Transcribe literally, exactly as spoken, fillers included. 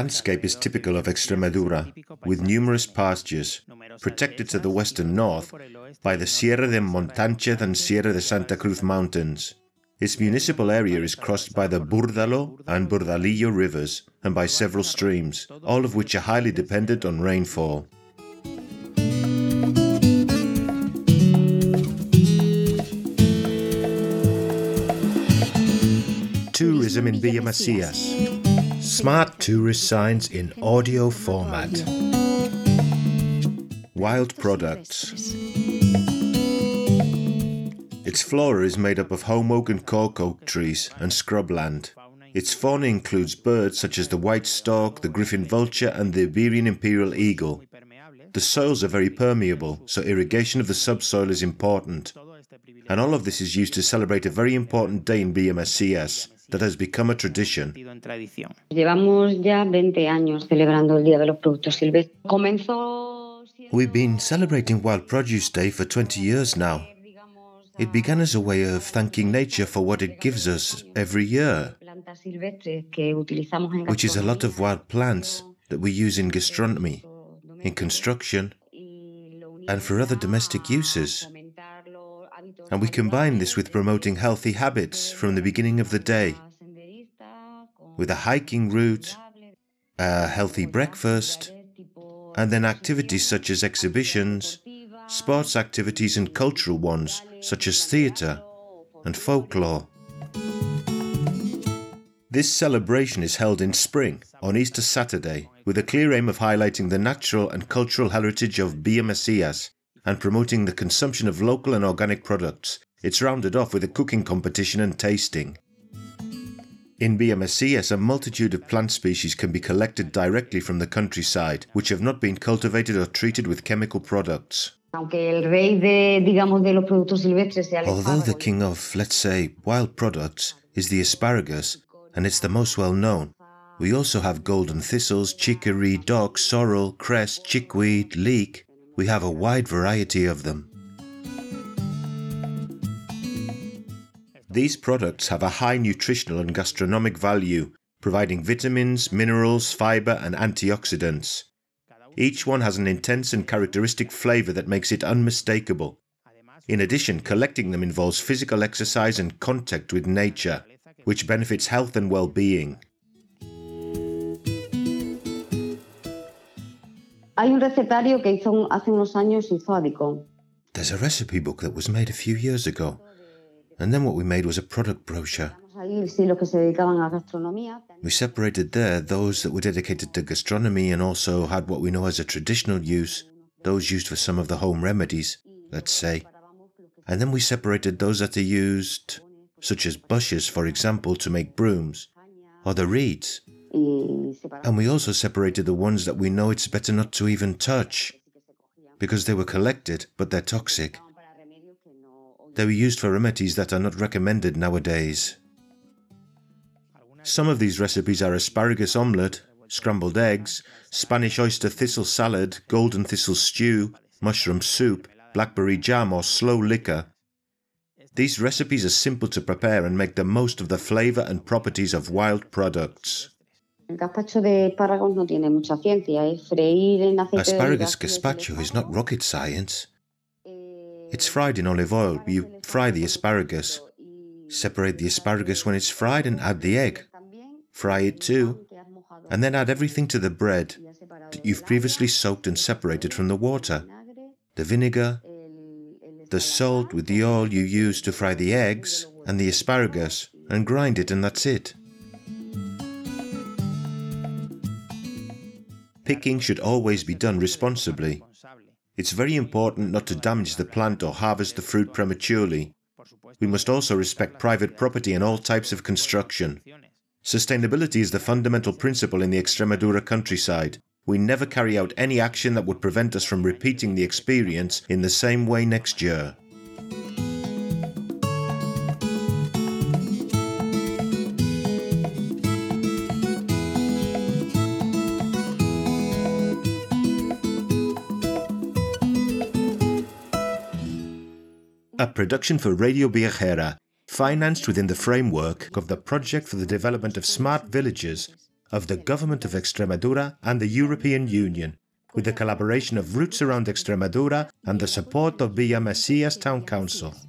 landscape is typical of Extremadura, with numerous pastures, protected to the west and north by the Sierra de Montánchez and Sierra de Santa Cruz mountains. Its municipal area is crossed by the Burdalo and Burdalillo rivers and by several streams, all of which are highly dependent on rainfall. Tourism in Villamesias. Smart tourist signs in audio format. Wild products. Its flora is made up of holm oak and cork oak trees and scrubland. Its fauna includes birds such as the white stork, the griffin vulture and the Iberian imperial eagle. The soils are very permeable, so irrigation of the subsoil is important. And all of this is used to celebrate a very important day in Villamesias that has become a tradition. Llevamos ya veinte años celebrando el Día de los Productos Silvestres. Comenzó... We've been celebrating Wild Produce Day for twenty years now. It began as a way of thanking nature for what it gives us every year, which is a lot of wild plants that we use in gastronomy, in construction, and for other domestic uses. And we combine this with promoting healthy habits from the beginning of the day, with a hiking route, a healthy breakfast, and then activities such as exhibitions, sports activities and cultural ones such as theatre and folklore. This celebration is held in spring, on Easter Saturday, with a clear aim of highlighting the natural and cultural heritage of Villamesias and promoting the consumption of local and organic products. It's rounded off with a cooking competition and tasting. In Villamesias, a multitude of plant species can be collected directly from the countryside, which have not been cultivated or treated with chemical products. Although the king of, let's say, wild products is the asparagus, and it's the most well-known, we also have golden thistles, chicory, dock, sorrel, cress, chickweed, leek. We have a wide variety of them. These products have a high nutritional and gastronomic value, providing vitamins, minerals, fibre and antioxidants. Each one has an intense and characteristic flavour that makes it unmistakable. In addition, collecting them involves physical exercise and contact with nature, which benefits health and well-being. There's a recipe book that was made a few years ago, and then what we made was a product brochure. We separated there those that were dedicated to gastronomy and also had what we know as a traditional use, those used for some of the home remedies, let's say. And then we separated those that are used, such as bushes, for example, to make brooms, or the reeds. And we also separated the ones that we know it's better not to even touch, because they were collected, but they're toxic. They were used for remedies that are not recommended nowadays. Some of these recipes are asparagus omelette, scrambled eggs, Spanish oyster thistle salad, golden thistle stew, mushroom soup, blackberry jam or slow liquor. These recipes are simple to prepare and make the most of the flavour and properties of wild products. Asparagus gazpacho is not rocket science. It's fried in olive oil. You fry the asparagus. Separate the asparagus when it's fried and add the egg. Fry it too. And then add everything to the bread that you've previously soaked and separated from the water. The vinegar, the salt with the oil you use to fry the eggs, and the asparagus, and grind it, and that's it. Picking should always be done responsibly. It's very important not to damage the plant or harvest the fruit prematurely. We must also respect private property and all types of construction. Sustainability is the fundamental principle in the Extremadura countryside. We never carry out any action that would prevent us from repeating the experience in the same way next year. A production for Radio Viajera, financed within the framework of the Project for the Development of Smart Villages of the Government of Extremadura and the European Union, with the collaboration of Roots Around Extremadura and the support of Villamesias Town Council.